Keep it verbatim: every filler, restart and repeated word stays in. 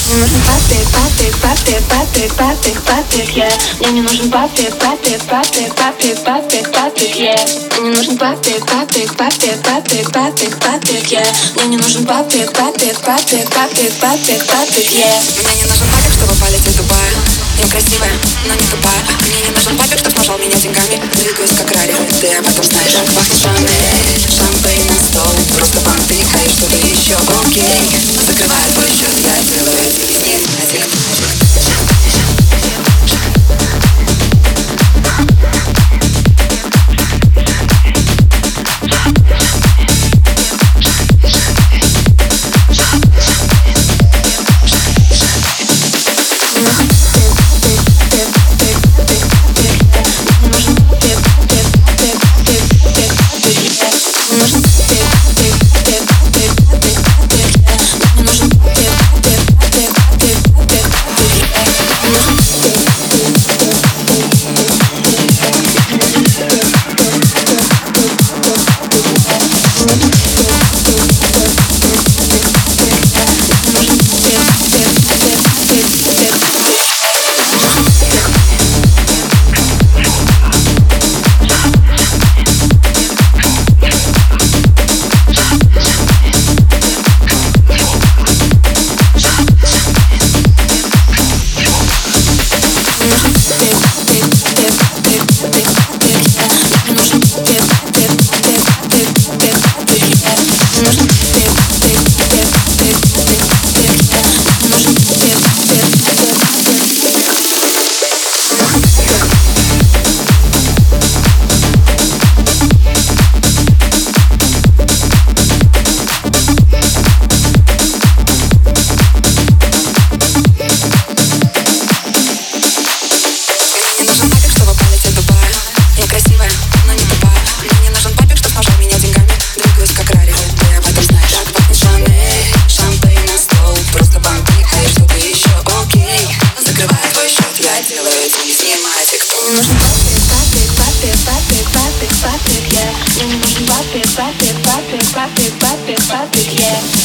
Мне нужен папик, папик, папик, папик, папик, папик, yeah. Мне не нужен папик, папик, папик, папик, папик, папик, yeah. Мне не нужен папик, папик, папик, папик, папик, папик, yeah. Мне не нужен папик, папик, папик, папик, папик, папик, yeah. Мне не нужен папик, чтобы полететь в Дубай. Я красивая, но не тупая. Мне не нужен папик, чтоб смажал меня деньгами. Двигаюсь как Рари, ты об этом знаешь. Как пахнет Шанель, шампейн на стол. Просто понтыкай, что-то еще окей. Закрывает твой счет, я делаю деньги. Мне нужен папик, папик, папик, папик, папик, папик, yeah. Мне не нужен папик, папик, папик, папик, папик, папик, yeah.